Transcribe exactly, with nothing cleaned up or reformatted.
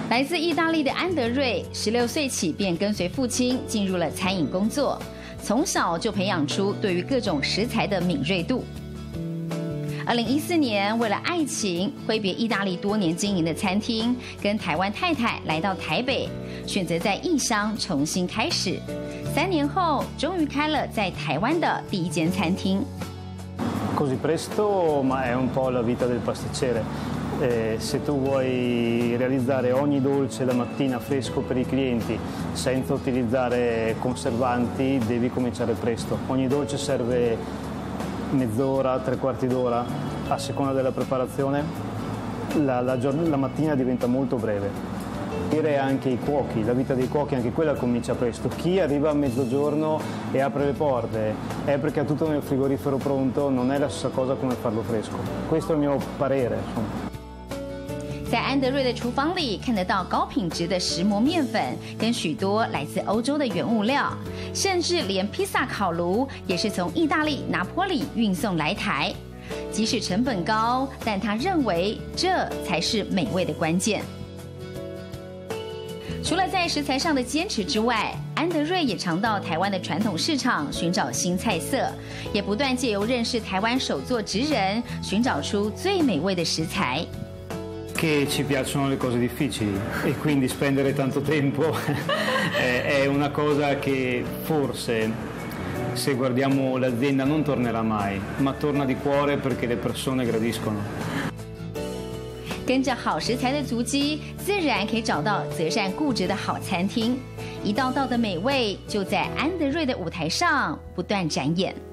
來自意大利的安德瑞，十六歲起便跟隨父親進入了餐飲工作，從小就培養出對於各種食材的敏銳度。二零一四年，為了愛情，揮別意大利多年經營的餐廳，跟台灣太太來到台北，選擇在異鄉重新開始。三年後，終於開了在台灣的第一間餐廳。 Così presto, ma è un po' la vita del pasticcere. Eh, se tu vuoi realizzare ogni dolce la mattina fresco per i clienti senza utilizzare conservanti, devi cominciare presto. Ogni dolce serve mezz'ora, tre quarti d'ora, a seconda della preparazione. La, la, la mattina diventa molto breve. E anche i cuochi, la vita dei cuochi anche quella comincia presto. Chi arriva a mezzogiorno e apre le porte è perché ha tutto nel frigorifero pronto, non è la stessa cosa come farlo fresco. Questo è il mio parere, insomma. 在安德瑞的廚房裡，看得到高品質的石磨麵粉跟許多來自歐洲的原物料，甚至連披薩烤爐也是從意大利拿坡里運送來台。即使成本高，但他認為這才是美味的關鍵。除了在食材上的堅持之外，安德瑞也常到台灣的傳統市場尋找新菜色，也不斷借由認識台灣手作職人，尋找出最美味的食材。 Che ci piacciono le cose difficili e quindi spendere tanto tempo è una cosa che forse se guardiamo l'azienda non tornerà mai, ma torna di cuore perché le persone gradiscono. 跟着好食材的足跡，自然可以找到擇善固執的好餐廳，一道道的美味就在安德瑞的舞台上不斷展演。